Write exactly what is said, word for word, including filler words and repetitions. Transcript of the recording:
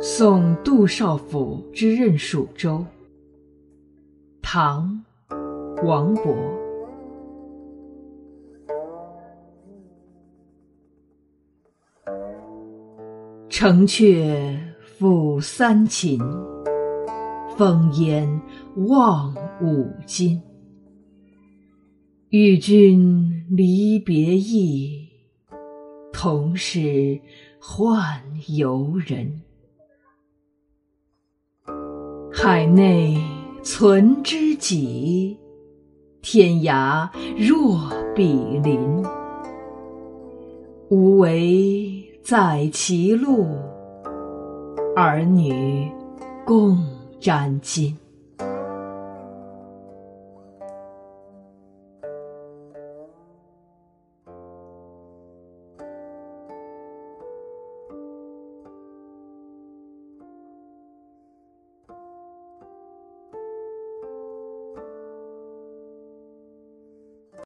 送杜少府之任蜀州。唐·王勃。城阙辅三秦，烽烟望五津。与君离别意，同是宦游人。海内存知己，天涯若比邻。无为在歧路，儿女共沾巾。